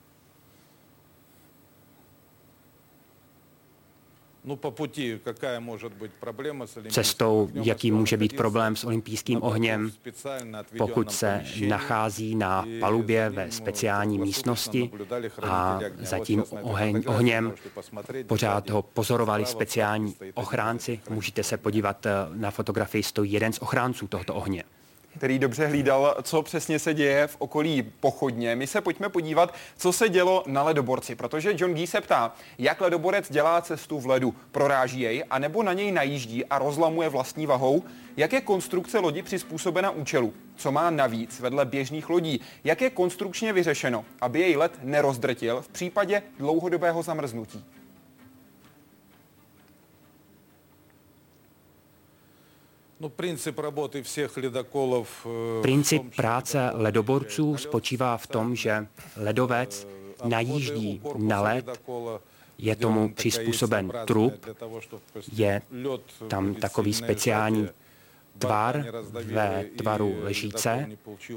Cestou, jaký může být problém s olympijským ohněm, pokud se nachází na palubě ve speciální místnosti a za tím oheň, ohněm pořád ho pozorovali speciální ochránci. Můžete se podívat na fotografii, stojí jeden z ochránců tohoto ohně. který dobře hlídal, co přesně se děje v okolí pochodně. My se pojďme podívat, co se dělo na ledoborci, protože John Gee se ptá, jak ledoborec dělá cestu v ledu, proráží jej, anebo na něj najíždí a rozlamuje vlastní vahou, jak je konstrukce lodi přizpůsobena účelu, co má navíc vedle běžných lodí, jak je konstrukčně vyřešeno, aby jej led nerozdrtil v případě dlouhodobého zamrznutí. No, princip работы všech ledokolov. Princip práce ledoborců spočívá v tom, že ledovec najíždí na led, je tomu přizpůsoben trup, je tam takový speciální tvar ve tvaru lžíce.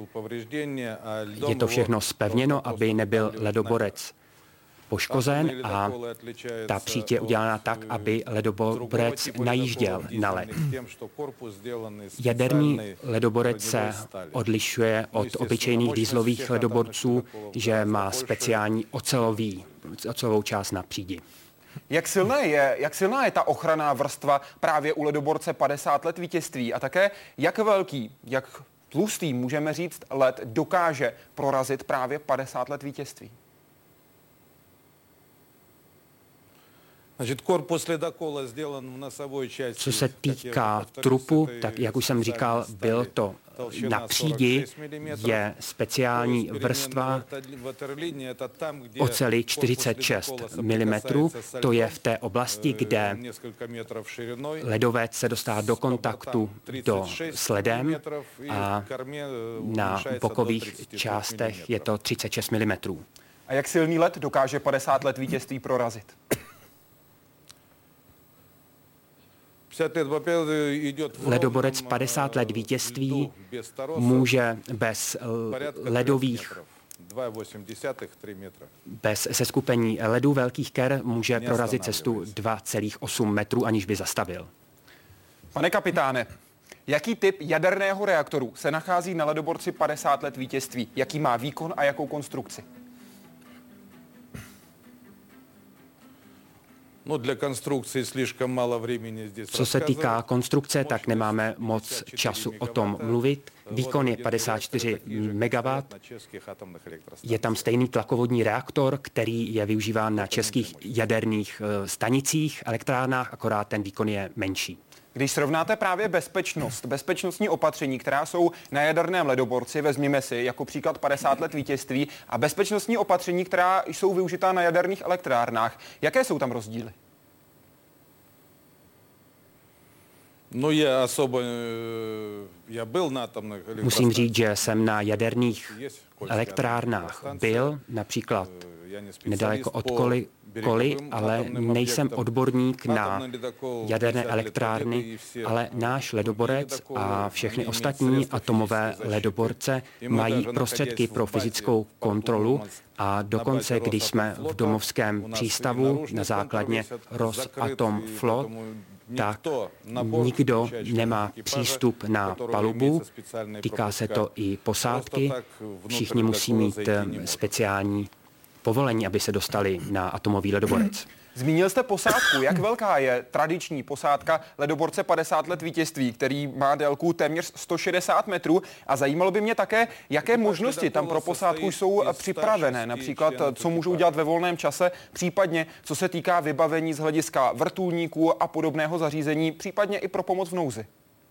Je to všechno zpevněno, aby nebyl ledoborec poškozen a ta příď je udělána tak, aby ledoborec najížděl na led. Jaderný ledoborec se odlišuje od obyčejných dieselových ledoborců, že má speciální ocelový, ocelovou část na přídi. Jak silná je, jak silná je ta ochranná vrstva právě u ledoborce padesát let vítězství a také jak velký, jak tlustý, můžeme říct, led dokáže prorazit právě padesát let vítězství? Co se týká trupu, tak jak už jsem říkal, byl to na přídi, je speciální vrstva oceli čtyřicet šest milimetrů. To je v té oblasti, kde ledovec se dostává do kontaktu do, s ledem a na bokových částech je to třicet šest milimetrů. A jak silný led dokáže padesát let vítězství prorazit? Ledoborec padesát let vítězství může bez ledových bez seskupení ledů velkých ker může prorazit cestu dva celá osm metrů, aniž by zastavil. Pane kapitáne, jaký typ jaderného reaktoru se nachází na ledoborci padesát let vítězství? Jaký má výkon a jakou konstrukci? Co se týká konstrukce, tak nemáme moc času o tom mluvit. Výkon je padesát čtyři megawattů. Je tam stejný tlakovodní reaktor, který je využíván na českých jaderných stanicích, elektrárnách, akorát ten výkon je menší. Když srovnáte právě bezpečnost, bezpečnostní opatření, která jsou na jaderném ledoborci, vezměme si jako příklad padesát let vítězství, a bezpečnostní opatření, která jsou využitá na jaderných elektrárnách, jaké jsou tam rozdíly? No je osoba, já byl na tom. Musím říct, že jsem na jaderných elektrárnách byl, například nedaleko od Koly, Koly, ale nejsem odborník na jaderné elektrárny, ale náš ledoborec a všechny ostatní atomové ledoborce mají prostředky pro fyzickou kontrolu a dokonce, když jsme v domovském přístavu na základně Rosatomflot, tak nikdo nemá přístup na palubu, týká se to i posádky, všichni musí mít speciální povolení, aby se dostali na atomový ledoborec. Zmínil jste posádku. Jak velká je tradiční posádka ledoborce padesát let vítězství, který má délku téměř sto šedesát metrů? A zajímalo by mě také, jaké možnosti tam pro posádku jsou připravené, například co můžou dělat ve volném čase, případně co se týká vybavení z hlediska vrtulníků a podobného zařízení, případně i pro pomoc v nouzi.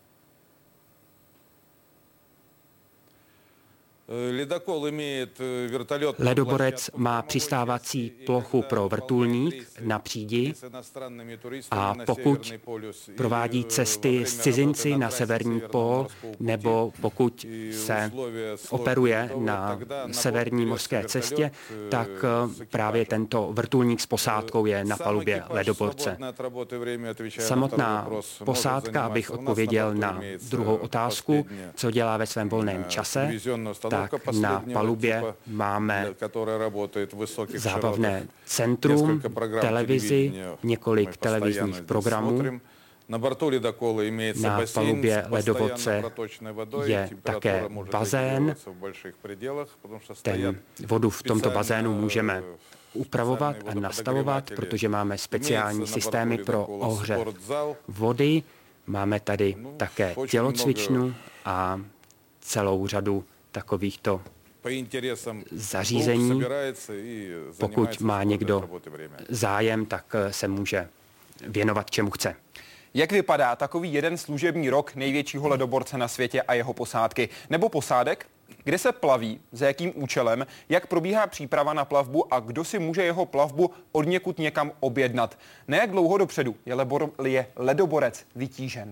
Ledoborec má přistávací plochu pro vrtulník na přídi a pokud provádí cesty s cizinci na severní pól nebo pokud se operuje na severní mořské cestě, tak právě tento vrtulník s posádkou je na palubě ledoborce. Samotná posádka, abych odpověděl na druhou otázku, co dělá ve svém volném čase, tak na palubě máme zábavné centrum, televizi, několik televizních programů. Na palubě ledoborce je také bazén. Ten vodu v tomto bazénu můžeme upravovat a nastavovat, protože máme speciální systémy pro ohřev vody. Máme tady také tělocvičnu a celou řadu takovýchto zařízení. Pokud má někdo zájem, tak se může věnovat čemu chce. Jak vypadá takový jeden služební rok největšího ledoborce na světě a jeho posádky? Nebo posádek? Kde se plaví, za jakým účelem, jak probíhá příprava na plavbu a kdo si může jeho plavbu odněkud někam objednat? Na jak dlouho dopředu je, lebor, je ledoborec vytížen?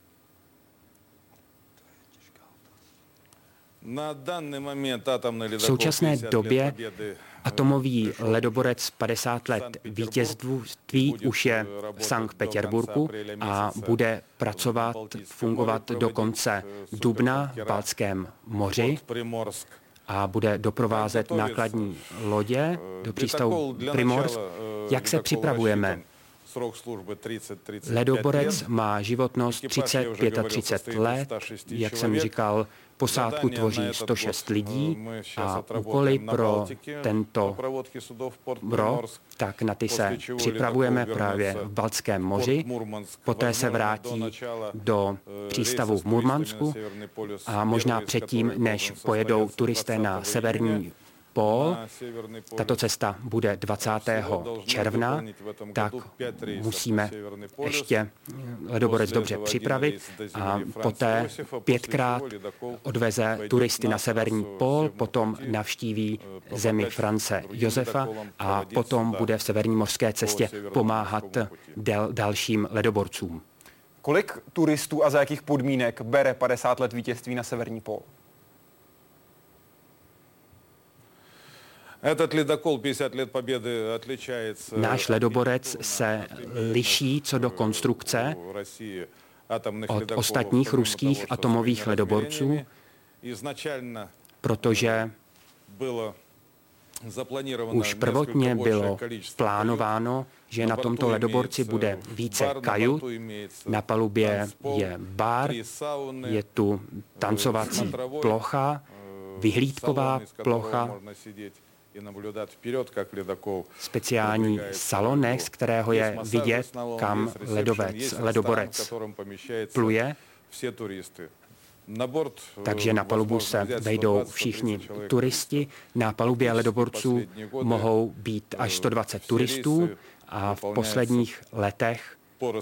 V současné době atomový ledoborec padesát let vítězství už je v Sankt Petěrburgu a bude pracovat, fungovat do konce dubna v Baltském moři a bude doprovázet nákladní lodě do přístavu Primorsk. Jak se připravujeme? Ledoborec má životnost třicet až třicet pět let, jak jsem říkal, posádku tvoří sto šest lidí a úkoly pro tento rok, tak na ty se připravujeme právě v Baltském moři. Poté se vrátí do přístavu v Murmansku a možná předtím, než pojedou turisté na severní pól, tato cesta bude dvacátého června, tak musíme ještě ledoborec dobře připravit a poté pětkrát odveze turisty na severní pól, potom navštíví zemi France Josefa a potom bude v severní mořské cestě pomáhat del, dalším ledoborcům. Kolik turistů a za jakých podmínek bere padesát let vítězství na severní pól? Náš ledoborec se liší co do konstrukce od ostatních ruských atomových ledoborců, protože už prvotně bylo plánováno, že na tomto ledoborci bude více kajut. Na palubě je bar, je tu tancovací plocha, vyhlídková plocha, speciální salonek, z kterého je vidět, kam ledovec, ledoborec pluje. Takže na palubu se vejdou všichni turisti. Na palubě ledoborců mohou být až sto dvacet turistů a v posledních letech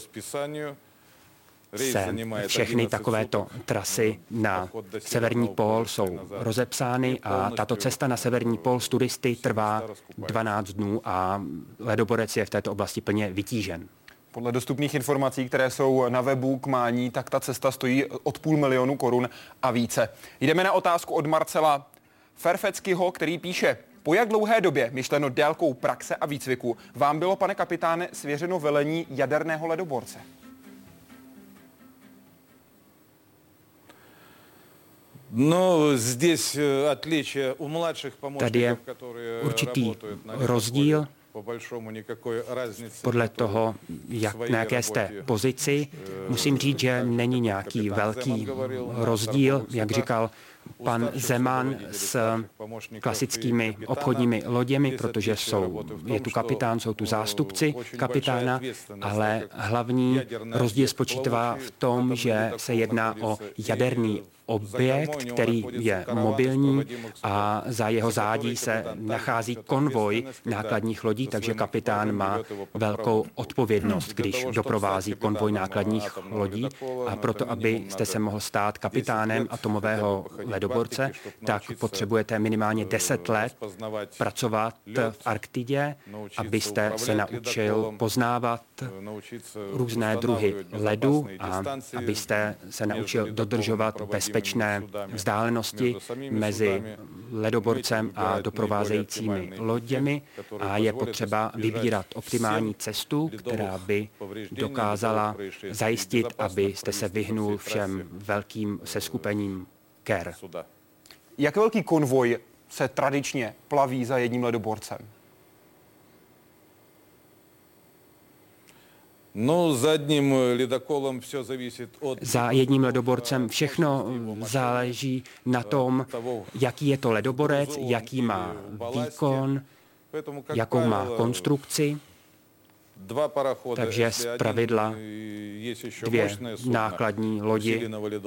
se všechny takovéto trasy na severní pól jsou rozepsány a tato cesta na severní pól s turisty trvá dvanáct dnů a ledoborec je v této oblasti plně vytížen. Podle dostupných informací, které jsou na webu k mání, tak ta cesta stojí od půl milionu korun a více. Jdeme na otázku od Marcela Ferfeckyho, který píše: po jak dlouhé době, myšleno délkou praxe a výcviku, vám bylo, pane kapitáne, svěřeno velení jaderného ledoborce? Tady je určitý rozdíl podle toho, jak, na jaké jste pozici. Musím říct, že není nějaký velký rozdíl, jak říkal pan Zeman, s klasickými obchodními loděmi, protože jsou, je tu kapitán, jsou tu zástupci kapitána, ale hlavní rozdíl spočívá v tom, že se jedná o jaderný objekt, který je mobilní a za jeho zádí se nachází konvoj nákladních lodí, takže kapitán má velkou odpovědnost, když doprovází konvoj nákladních lodí. A proto, abyste se mohl stát kapitánem atomového ledoborce, tak potřebujete minimálně deset let pracovat v Arktidě, abyste se naučil poznávat různé druhy ledu a abyste se naučil dodržovat bezpečné vzdálenosti mezi ledoborcem a doprovázejícími loděmi a je potřeba vybírat optimální cestu, která by dokázala zajistit, abyste se vyhnul všem velkým seskupením ker. Jak velký konvoj se tradičně plaví za jedním ledoborcem? Za jedním ledoborcem všechno záleží na tom, jaký je to ledoborec, jaký má výkon, jakou má konstrukci. Takže zpravidla dvě nákladní lodi,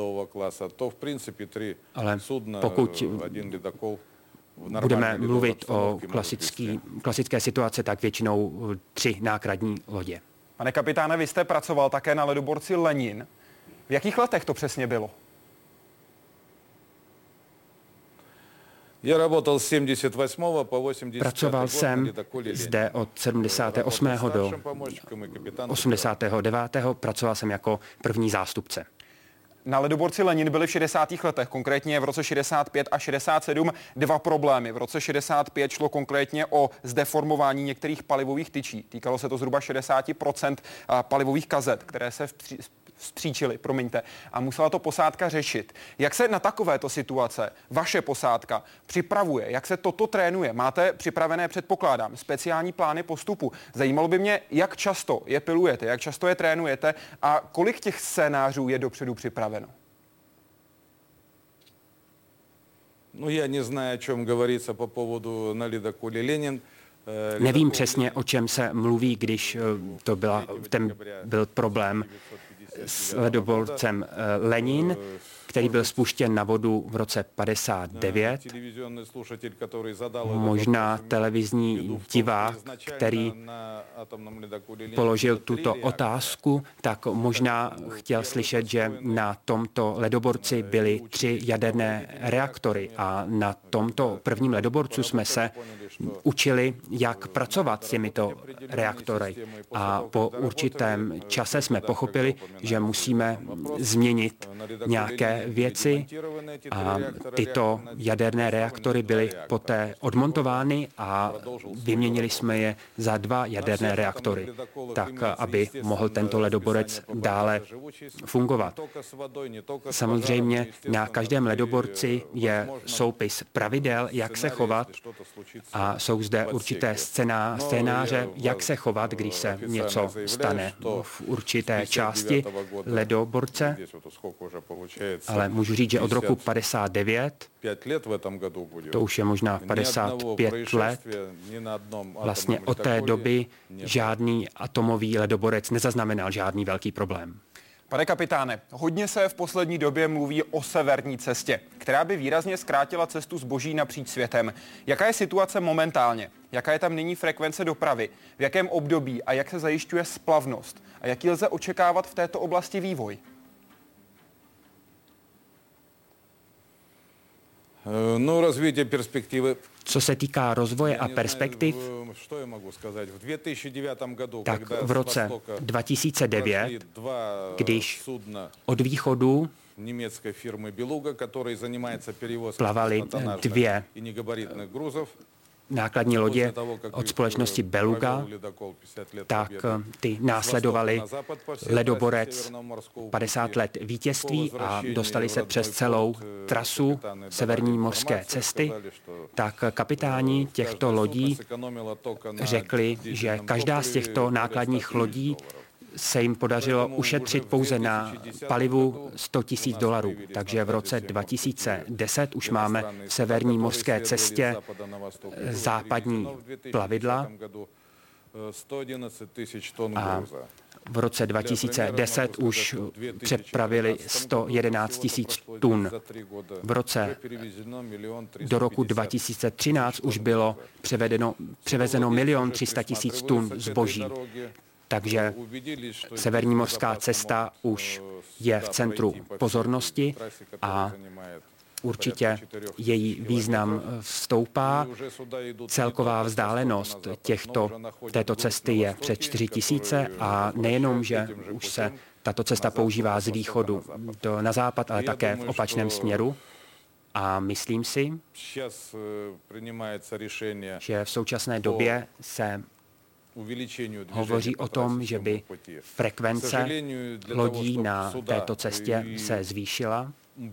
ale pokud budeme mluvit o klasický, klasické situace, tak většinou tři nákladní lodě. Pane kapitáne, vy jste pracoval také na ledoborci Lenin. V jakých letech to přesně bylo? Pracoval jsem zde od sedmdesátého osmého do osmdesátého devátého Pracoval jsem jako první zástupce. Na ledoborci Lenin byly v šedesátých letech, konkrétně v roce šedesát pět a šedesát sedm, dva problémy. V roce šedesát pět šlo konkrétně o zdeformování některých palivových tyčí. Týkalo se to zhruba šedesát procent palivových kazet, které se vzpříčily, promiňte, a musela to posádka řešit. Jak se na takovéto situace vaše posádka připravuje? Jak se toto trénuje? Máte připravené, předpokládám, speciální plány postupu? Zajímalo by mě, jak často je pilujete, jak často je trénujete a kolik těch scénářů je dopředu připraveno? No, já neznám, o čem говорится по поводу на ледоколе Ленин. Nevím přesně, o čem se mluví, když to byla, ten byl problém s ledoborcem Lenin, který byl spuštěn na vodu v roce padesát devět. Možná televizní divák, který položil tuto otázku, tak možná chtěl slyšet, že na tomto ledoborci byly tři jaderné reaktory a na tomto prvním ledoborcu jsme se učili, jak pracovat s těmito reaktory. A po určitém čase jsme pochopili, že musíme změnit nějaké věci a tyto jaderné reaktory byly poté odmontovány a vyměnili jsme je za dva jaderné reaktory, tak aby mohl tento ledoborec dále fungovat. Samozřejmě na každém ledoborci je soupis pravidel, jak se chovat a jsou zde určité scéná, scénáře, jak se chovat, když se něco stane v určité části ledoborce. Ale můžu říct, že od roku padesát devět, to už je možná padesát pět let, vlastně od té doby žádný atomový ledoborec nezaznamenal žádný velký problém. Pane kapitáne, hodně se v poslední době mluví o severní cestě, která by výrazně zkrátila cestu zboží napříč světem. Jaká je situace momentálně? Jaká je tam nyní frekvence dopravy? V jakém období a jak se zajišťuje splavnost? A jaký lze očekávat v této oblasti vývoj? No, rozvíjete perspektivy. Co se týká rozvoje a perspektiv, tak v roce dva tisíce devět, když od východu plavaly dvě nákladní lodě od společnosti Beluga, tak ty následovali ledoborec padesát let vítězství a dostali se přes celou trasu severní mořské cesty, tak kapitáni těchto lodí řekli, že každá z těchto nákladních lodí se jim podařilo ušetřit pouze na palivu sto tisíc dolarů. Takže v roce dva tisíce deset už máme v severní mořské cestě západní plavidla a v roce dva tisíce deset už přepravili sto jedenáct tisíc tun. V roce do roku dva tisíce třináct už bylo převedeno, převezeno milion tři sta tisíc tun zboží. Takže severní mořská cesta už je v centru pozornosti a určitě její význam stoupá. Celková vzdálenost těchto, této cesty je přes čtyři tisíce a nejenom, že už se tato cesta používá z východu do, na západ, ale také v opačném směru. A myslím si, že v současné době se hovoří o tom, že by frekvence lodí na této cestě se zvýšila,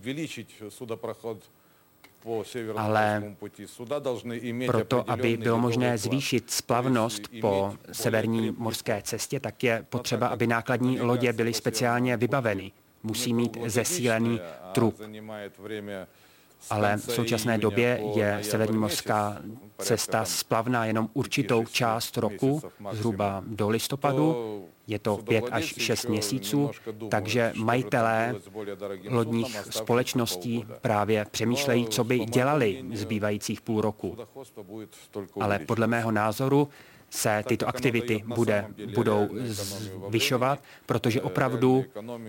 ale proto, aby bylo možné zvýšit splavnost po severní mořské cestě, tak je potřeba, aby nákladní lodě byly speciálně vybaveny. Musí mít zesílený trup. ale v současné době je severní mořská cesta splavná jenom určitou část roku, zhruba do listopadu. Je to pět až šest měsíců, takže majitelé lodních společností právě přemýšlejí, co by dělali zbývajících půl roku. Ale podle mého názoru se tyto aktivity bude, budou zvyšovat, protože opravdu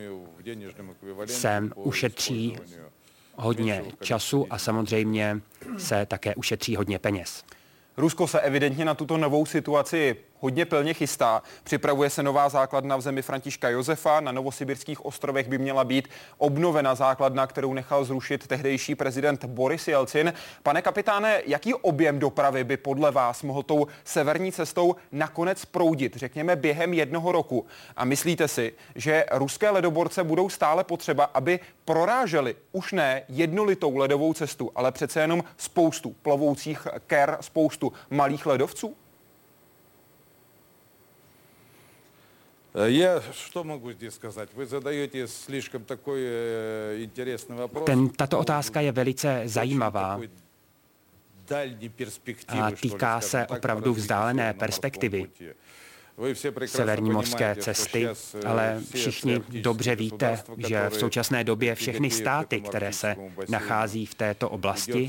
se ušetří hodně času a samozřejmě se také ušetří hodně peněz. Rusko se evidentně na tuto novou situaci hodně pilně chystá. Připravuje se nová základna v zemi Františka Josefa. Na Novosibirských ostrovech by měla být obnovena základna, kterou nechal zrušit tehdejší prezident Boris Jelcin. Pane kapitáne, jaký objem dopravy by podle vás mohl tou severní cestou nakonec proudit, řekněme během jednoho roku? A myslíte si, že ruské ledoborce budou stále potřeba, aby proráželi už ne jednolitou ledovou cestu, ale přece jenom spoustu plovoucích ker, spoustu malých ledovců? Я что могу здесь сказать? Вы задаете слишком такой интересный вопрос. Ten, tato otázka je velice zajímavá a týká se opravdu vzdálené perspektivy severní mořské cesty, ale všichni dobře víte, že v současné době všechny státy, které se nachází v této oblasti,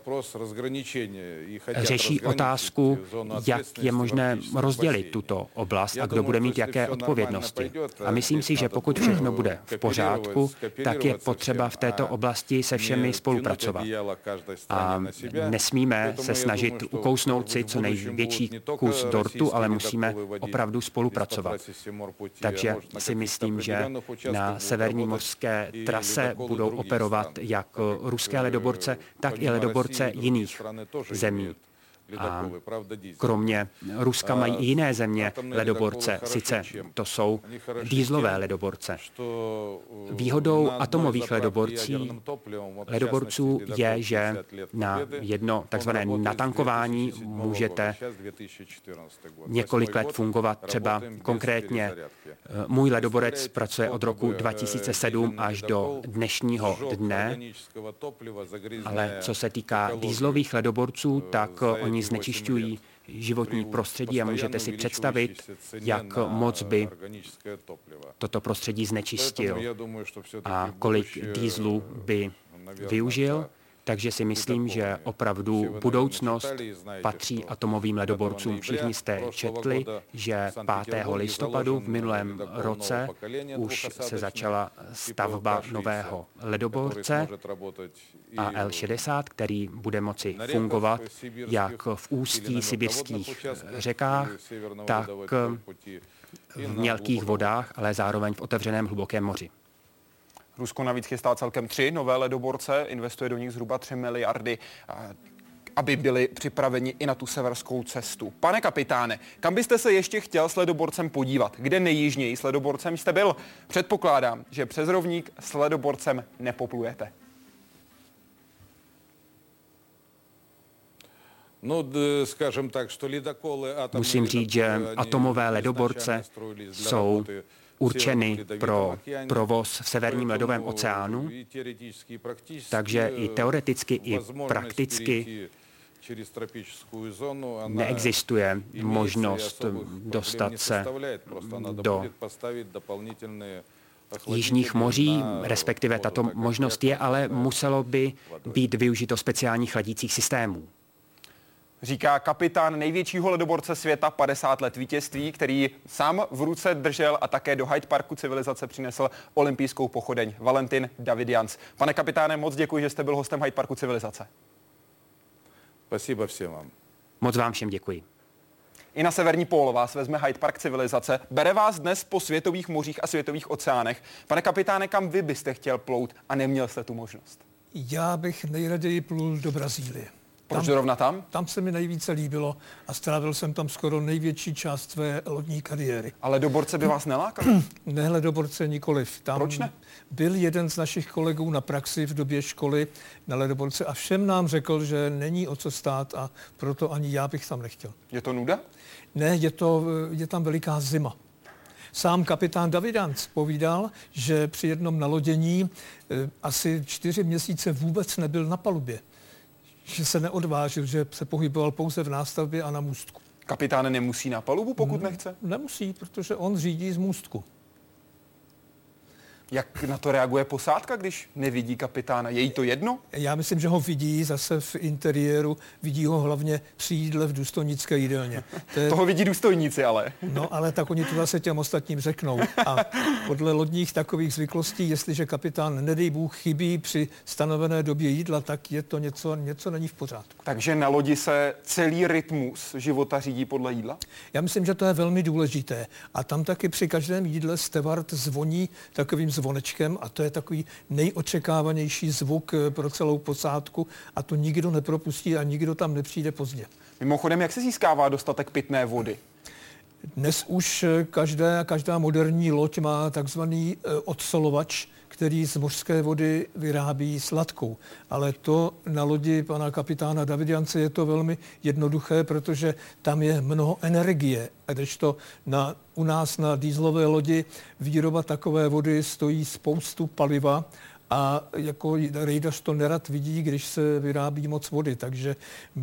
řeší otázku, jak je možné rozdělit tuto oblast a kdo bude mít jaké odpovědnosti. A myslím si, že pokud všechno bude v pořádku, tak je potřeba v této oblasti se všemi spolupracovat. A nesmíme se snažit ukousnout si co největší kus dortu, ale musíme opravdu spolupracovat. Takže si myslím, že na severní mořské trase budou operovat jak ruské ledoborce, tak i ledoborce jiných zemí. A kromě Ruska mají i jiné země ledoborce, sice to jsou dýzlové ledoborce. Výhodou atomových ledoborcí, ledoborců je, že na jedno takzvané natankování můžete několik let fungovat. Třeba konkrétně můj ledoborec pracuje od roku dva tisíce sedm až do dnešního dne, ale co se týká dýzlových ledoborců, tak oni znečišťují životní prostředí a můžete si představit, jak moc by toto prostředí znečistil a kolik dýzlů by využil. Takže si myslím, že opravdu budoucnost patří atomovým ledoborcům. Všichni jste četli, že pátého listopadu v minulém roce už se začala stavba nového ledoborce A L šedesát, který bude moci fungovat jak v ústí sibirských řekách, tak v mělkých vodách, ale zároveň v otevřeném hlubokém moři. Rusko navíc chystá celkem tři nové ledoborce, investuje do nich zhruba tři miliardy, aby byli připraveni i na tu severskou cestu. Pane kapitáne, kam byste se ještě chtěl s ledoborcem podívat? Kde nejjižněji s ledoborcem jste byl? Předpokládám, že přes rovník s ledoborcem nepoplujete. Musím říct, že atomové ledoborce jsou určeny pro provoz v severním ledovém oceánu, takže i teoreticky, i prakticky neexistuje možnost dostat se do jižních moří, respektive tato možnost je, ale muselo by být využito speciálních chladících systémů. Říká kapitán největšího ledoborce světa, padesát let vítězství, který sám v ruce držel a také do Hyde Parku civilizace přinesl olympijskou pochodeň. Valentin Davidians. Pane kapitáne, moc děkuji, že jste byl hostem Hyde Parku civilizace. Spasibo všem vám. Moc vám všem děkuji. I na severní pól vás vezme Hyde Park civilizace. Bere vás dnes po světových mořích a světových oceánech. Pane kapitáne, kam vy byste chtěl plout a neměl jste tu možnost? Já bych nejraději plul do Brazílie. Proč zrovna tam? Tam se mi nejvíce líbilo a strávil jsem tam skoro největší část své lodní kariéry. Ale ledoborce by vás nelákal? Ne, ledoborce nikoliv. Tam Proč ne? Byl jeden z našich kolegů na praxi v době školy na ledoborce a všem nám řekl, že není o co stát a proto ani já bych tam nechtěl. Je to nuda? Ne, je, to, je tam veliká zima. Sám kapitán Davidanc povídal, že při jednom nalodění e, asi čtyři měsíce vůbec nebyl na palubě. Že se neodvážil, že se pohyboval pouze v nástavbě a na můstku. Kapitán nemusí na palubu, pokud ne, nechce? Nemusí, protože on řídí z můstku. Jak na to reaguje posádka, když nevidí kapitána? Je jí to jedno? Já myslím, že ho vidí zase v interiéru, vidí ho hlavně při jídle v důstojnické jídelně. To je... Toho vidí důstojníci ale. No, ale tak oni to zase těm ostatním řeknou. A podle lodních takových zvyklostí, jestliže kapitán, nedej Bůh, chybí při stanovené době jídla, tak je to něco, něco není v pořádku. Takže na lodi se celý rytmus života řídí podle jídla? Já myslím, že to je velmi důležité. A tam taky při každém jídle stevard zvoní takovým zvonečkem a to je takový nejočekávanější zvuk pro celou posádku a to nikdo nepropustí a nikdo tam nepřijde pozdě. Mimochodem, jak se získává dostatek pitné vody? Dnes už každá, každá moderní loď má takzvaný odsolovač, který z mořské vody vyrábí sladkou. Ale to na lodi pana kapitána Davidance je to velmi jednoduché, protože tam je mnoho energie. A když to na, u nás na dieselové lodi výroba takové vody stojí spoustu paliva a jako rejdař to nerad vidí, když se vyrábí moc vody. Takže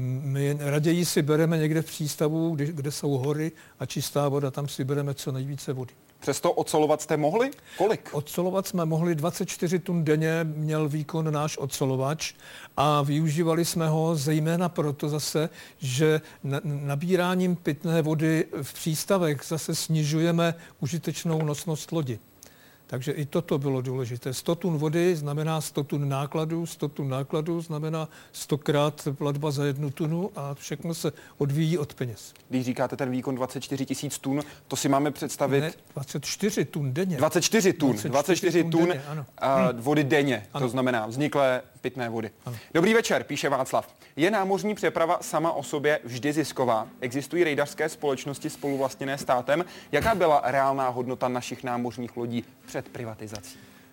my raději si bereme někde v přístavu, kde, kde jsou hory a čistá voda, tam si bereme co nejvíce vody. Přesto odsolovat jste mohli? Kolik? Odsolovat jsme mohli dvacet čtyři tun denně, měl výkon náš odsolovač a využívali jsme ho zejména proto zase, že nabíráním pitné vody v přístavech zase snižujeme užitečnou nosnost lodi. Takže i toto bylo důležité. sto tun vody znamená sto tun nákladů, sto tun nákladů znamená stokrát platba za jednu tunu a všechno se odvíjí od peněz. Když říkáte ten výkon dvacet čtyři tisíc tun, to si máme představit... Ne, dvacet čtyři tun denně. dvacet čtyři tun, dvacet čtyři tun denně, a vody denně, ano. To znamená vzniklé pitné vody. Ano. Dobrý večer, píše Václav. Je námořní přeprava sama o sobě vždy zisková? Existují rejdařské společnosti spoluvlastněné státem? Jaká byla reálná hodnota našich námořních lodí před privatizací?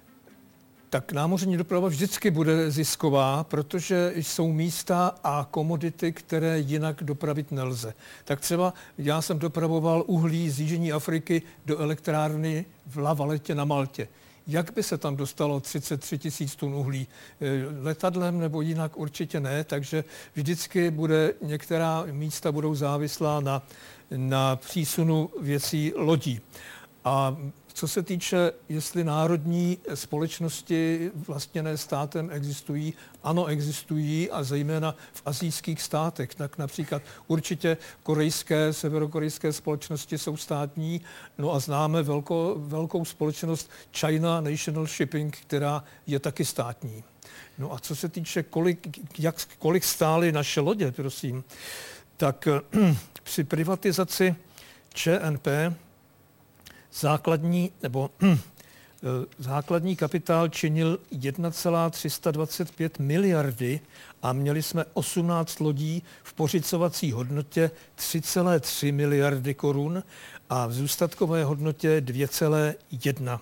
Tak námořní doprava vždycky bude zisková, protože jsou místa a komodity, které jinak dopravit nelze. Tak třeba já jsem dopravoval uhlí z Jižní Afriky do elektrárny v La Valette na Maltě. Jak by se tam dostalo třicet tři tisíc tun uhlí? Letadlem nebo jinak určitě ne, takže vždycky bude, některá místa budou závislá na, na přísunu věcí lodí. A co se týče, jestli národní společnosti vlastněné státem existují, ano, existují a zejména v asijských státech. Tak například určitě korejské, severokorejské společnosti jsou státní, no a známe velkou, velkou společnost China National Shipping, která je taky státní. No a co se týče, kolik, jak, kolik stály naše lodě, prosím, tak při privatizaci Č N P Základní, nebo základní kapitál činil jedna celá tři sta dvacet pět miliardy a měli jsme osmnáct lodí v pořizovací hodnotě tři celé tři miliardy korun a v zůstatkové hodnotě dvě celé jedna.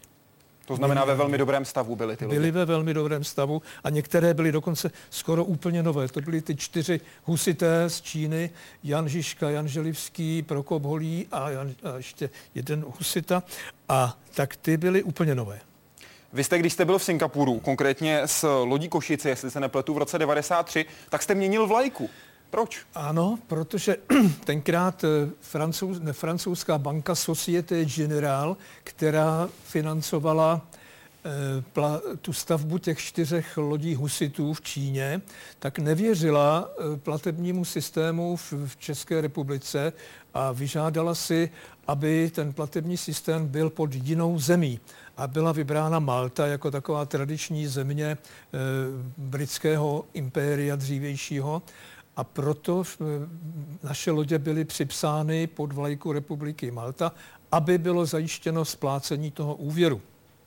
To znamená, ve velmi dobrém stavu byly ty lodi. Byly ve velmi dobrém stavu a některé byly dokonce skoro úplně nové. To byly ty čtyři husité z Číny, Jan Žižka, Jan Želivský, Prokop Holý a, Jan, a ještě jeden husita. A tak ty byly úplně nové. Vy jste, když jste byl v Singapuru, konkrétně s lodí Košice, jestli se nepletu, v roce devadesát tři, tak jste měnil vlajku. Proč? Ano, protože tenkrát francouz, ne, francouzská banka Société Générale, která financovala eh, pla, tu stavbu těch čtyřech lodí husitů v Číně, tak nevěřila eh, platebnímu systému v, v České republice a vyžádala si, aby ten platební systém byl pod jinou zemí. A byla vybrána Malta jako taková tradiční země eh, britského impéria dřívějšího. A proto naše lodě byly připsány pod vlajku Republiky Malta, aby bylo zajištěno splácení toho úvěru.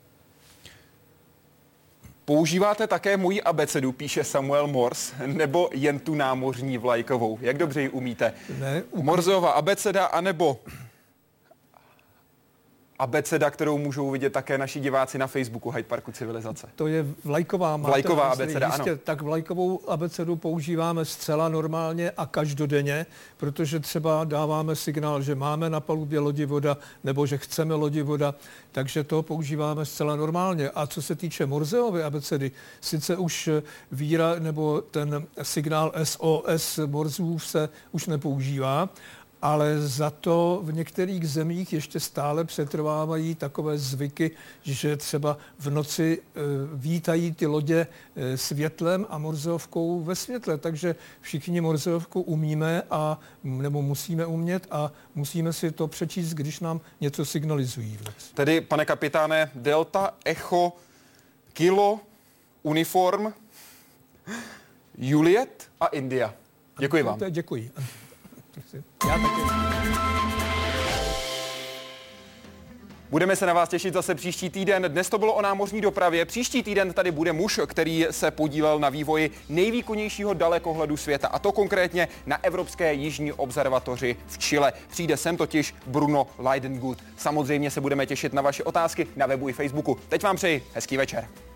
Používáte také moji abecedu, píše Samuel Morse, nebo jen tu námořní vlajkovou? Jak dobře ji umíte? Ne, u... Morseova abeceda, anebo abeceda, kterou můžou vidět také naši diváci na Facebooku Hyde Parku civilizace. To je vlajková. Vlajková abeceda, jistě, ano. Tak vlajkovou abecedu používáme zcela normálně a každodenně, protože třeba dáváme signál, že máme na palubě lodi voda nebo že chceme lodi voda, takže to používáme zcela normálně. A co se týče Morseovy abecedy, sice už víra nebo ten signál S O S Morzův se už nepoužívá, ale za to v některých zemích ještě stále přetrvávají takové zvyky, že třeba v noci e, vítají ty lodě e, světlem a Morzeovkou ve světle. Takže všichni Morzeovku umíme a nebo musíme umět a musíme si to přečíst, když nám něco signalizují v noci. Tedy, pane kapitáne, Delta, Echo, Kilo, Uniform, Juliet a India. Děkuji vám. Děkuji. Já taky. Budeme se na vás těšit zase příští týden. Dnes to bylo o námořní dopravě. Příští týden tady bude muž, který se podílel na vývoji nejvýkonnějšího dalekohledu světa, a to konkrétně na Evropské jižní observatoři v Chile. Přijde sem totiž Bruno Leidengut. Samozřejmě se budeme těšit na vaše otázky na webu i Facebooku. Teď vám přeji hezký večer.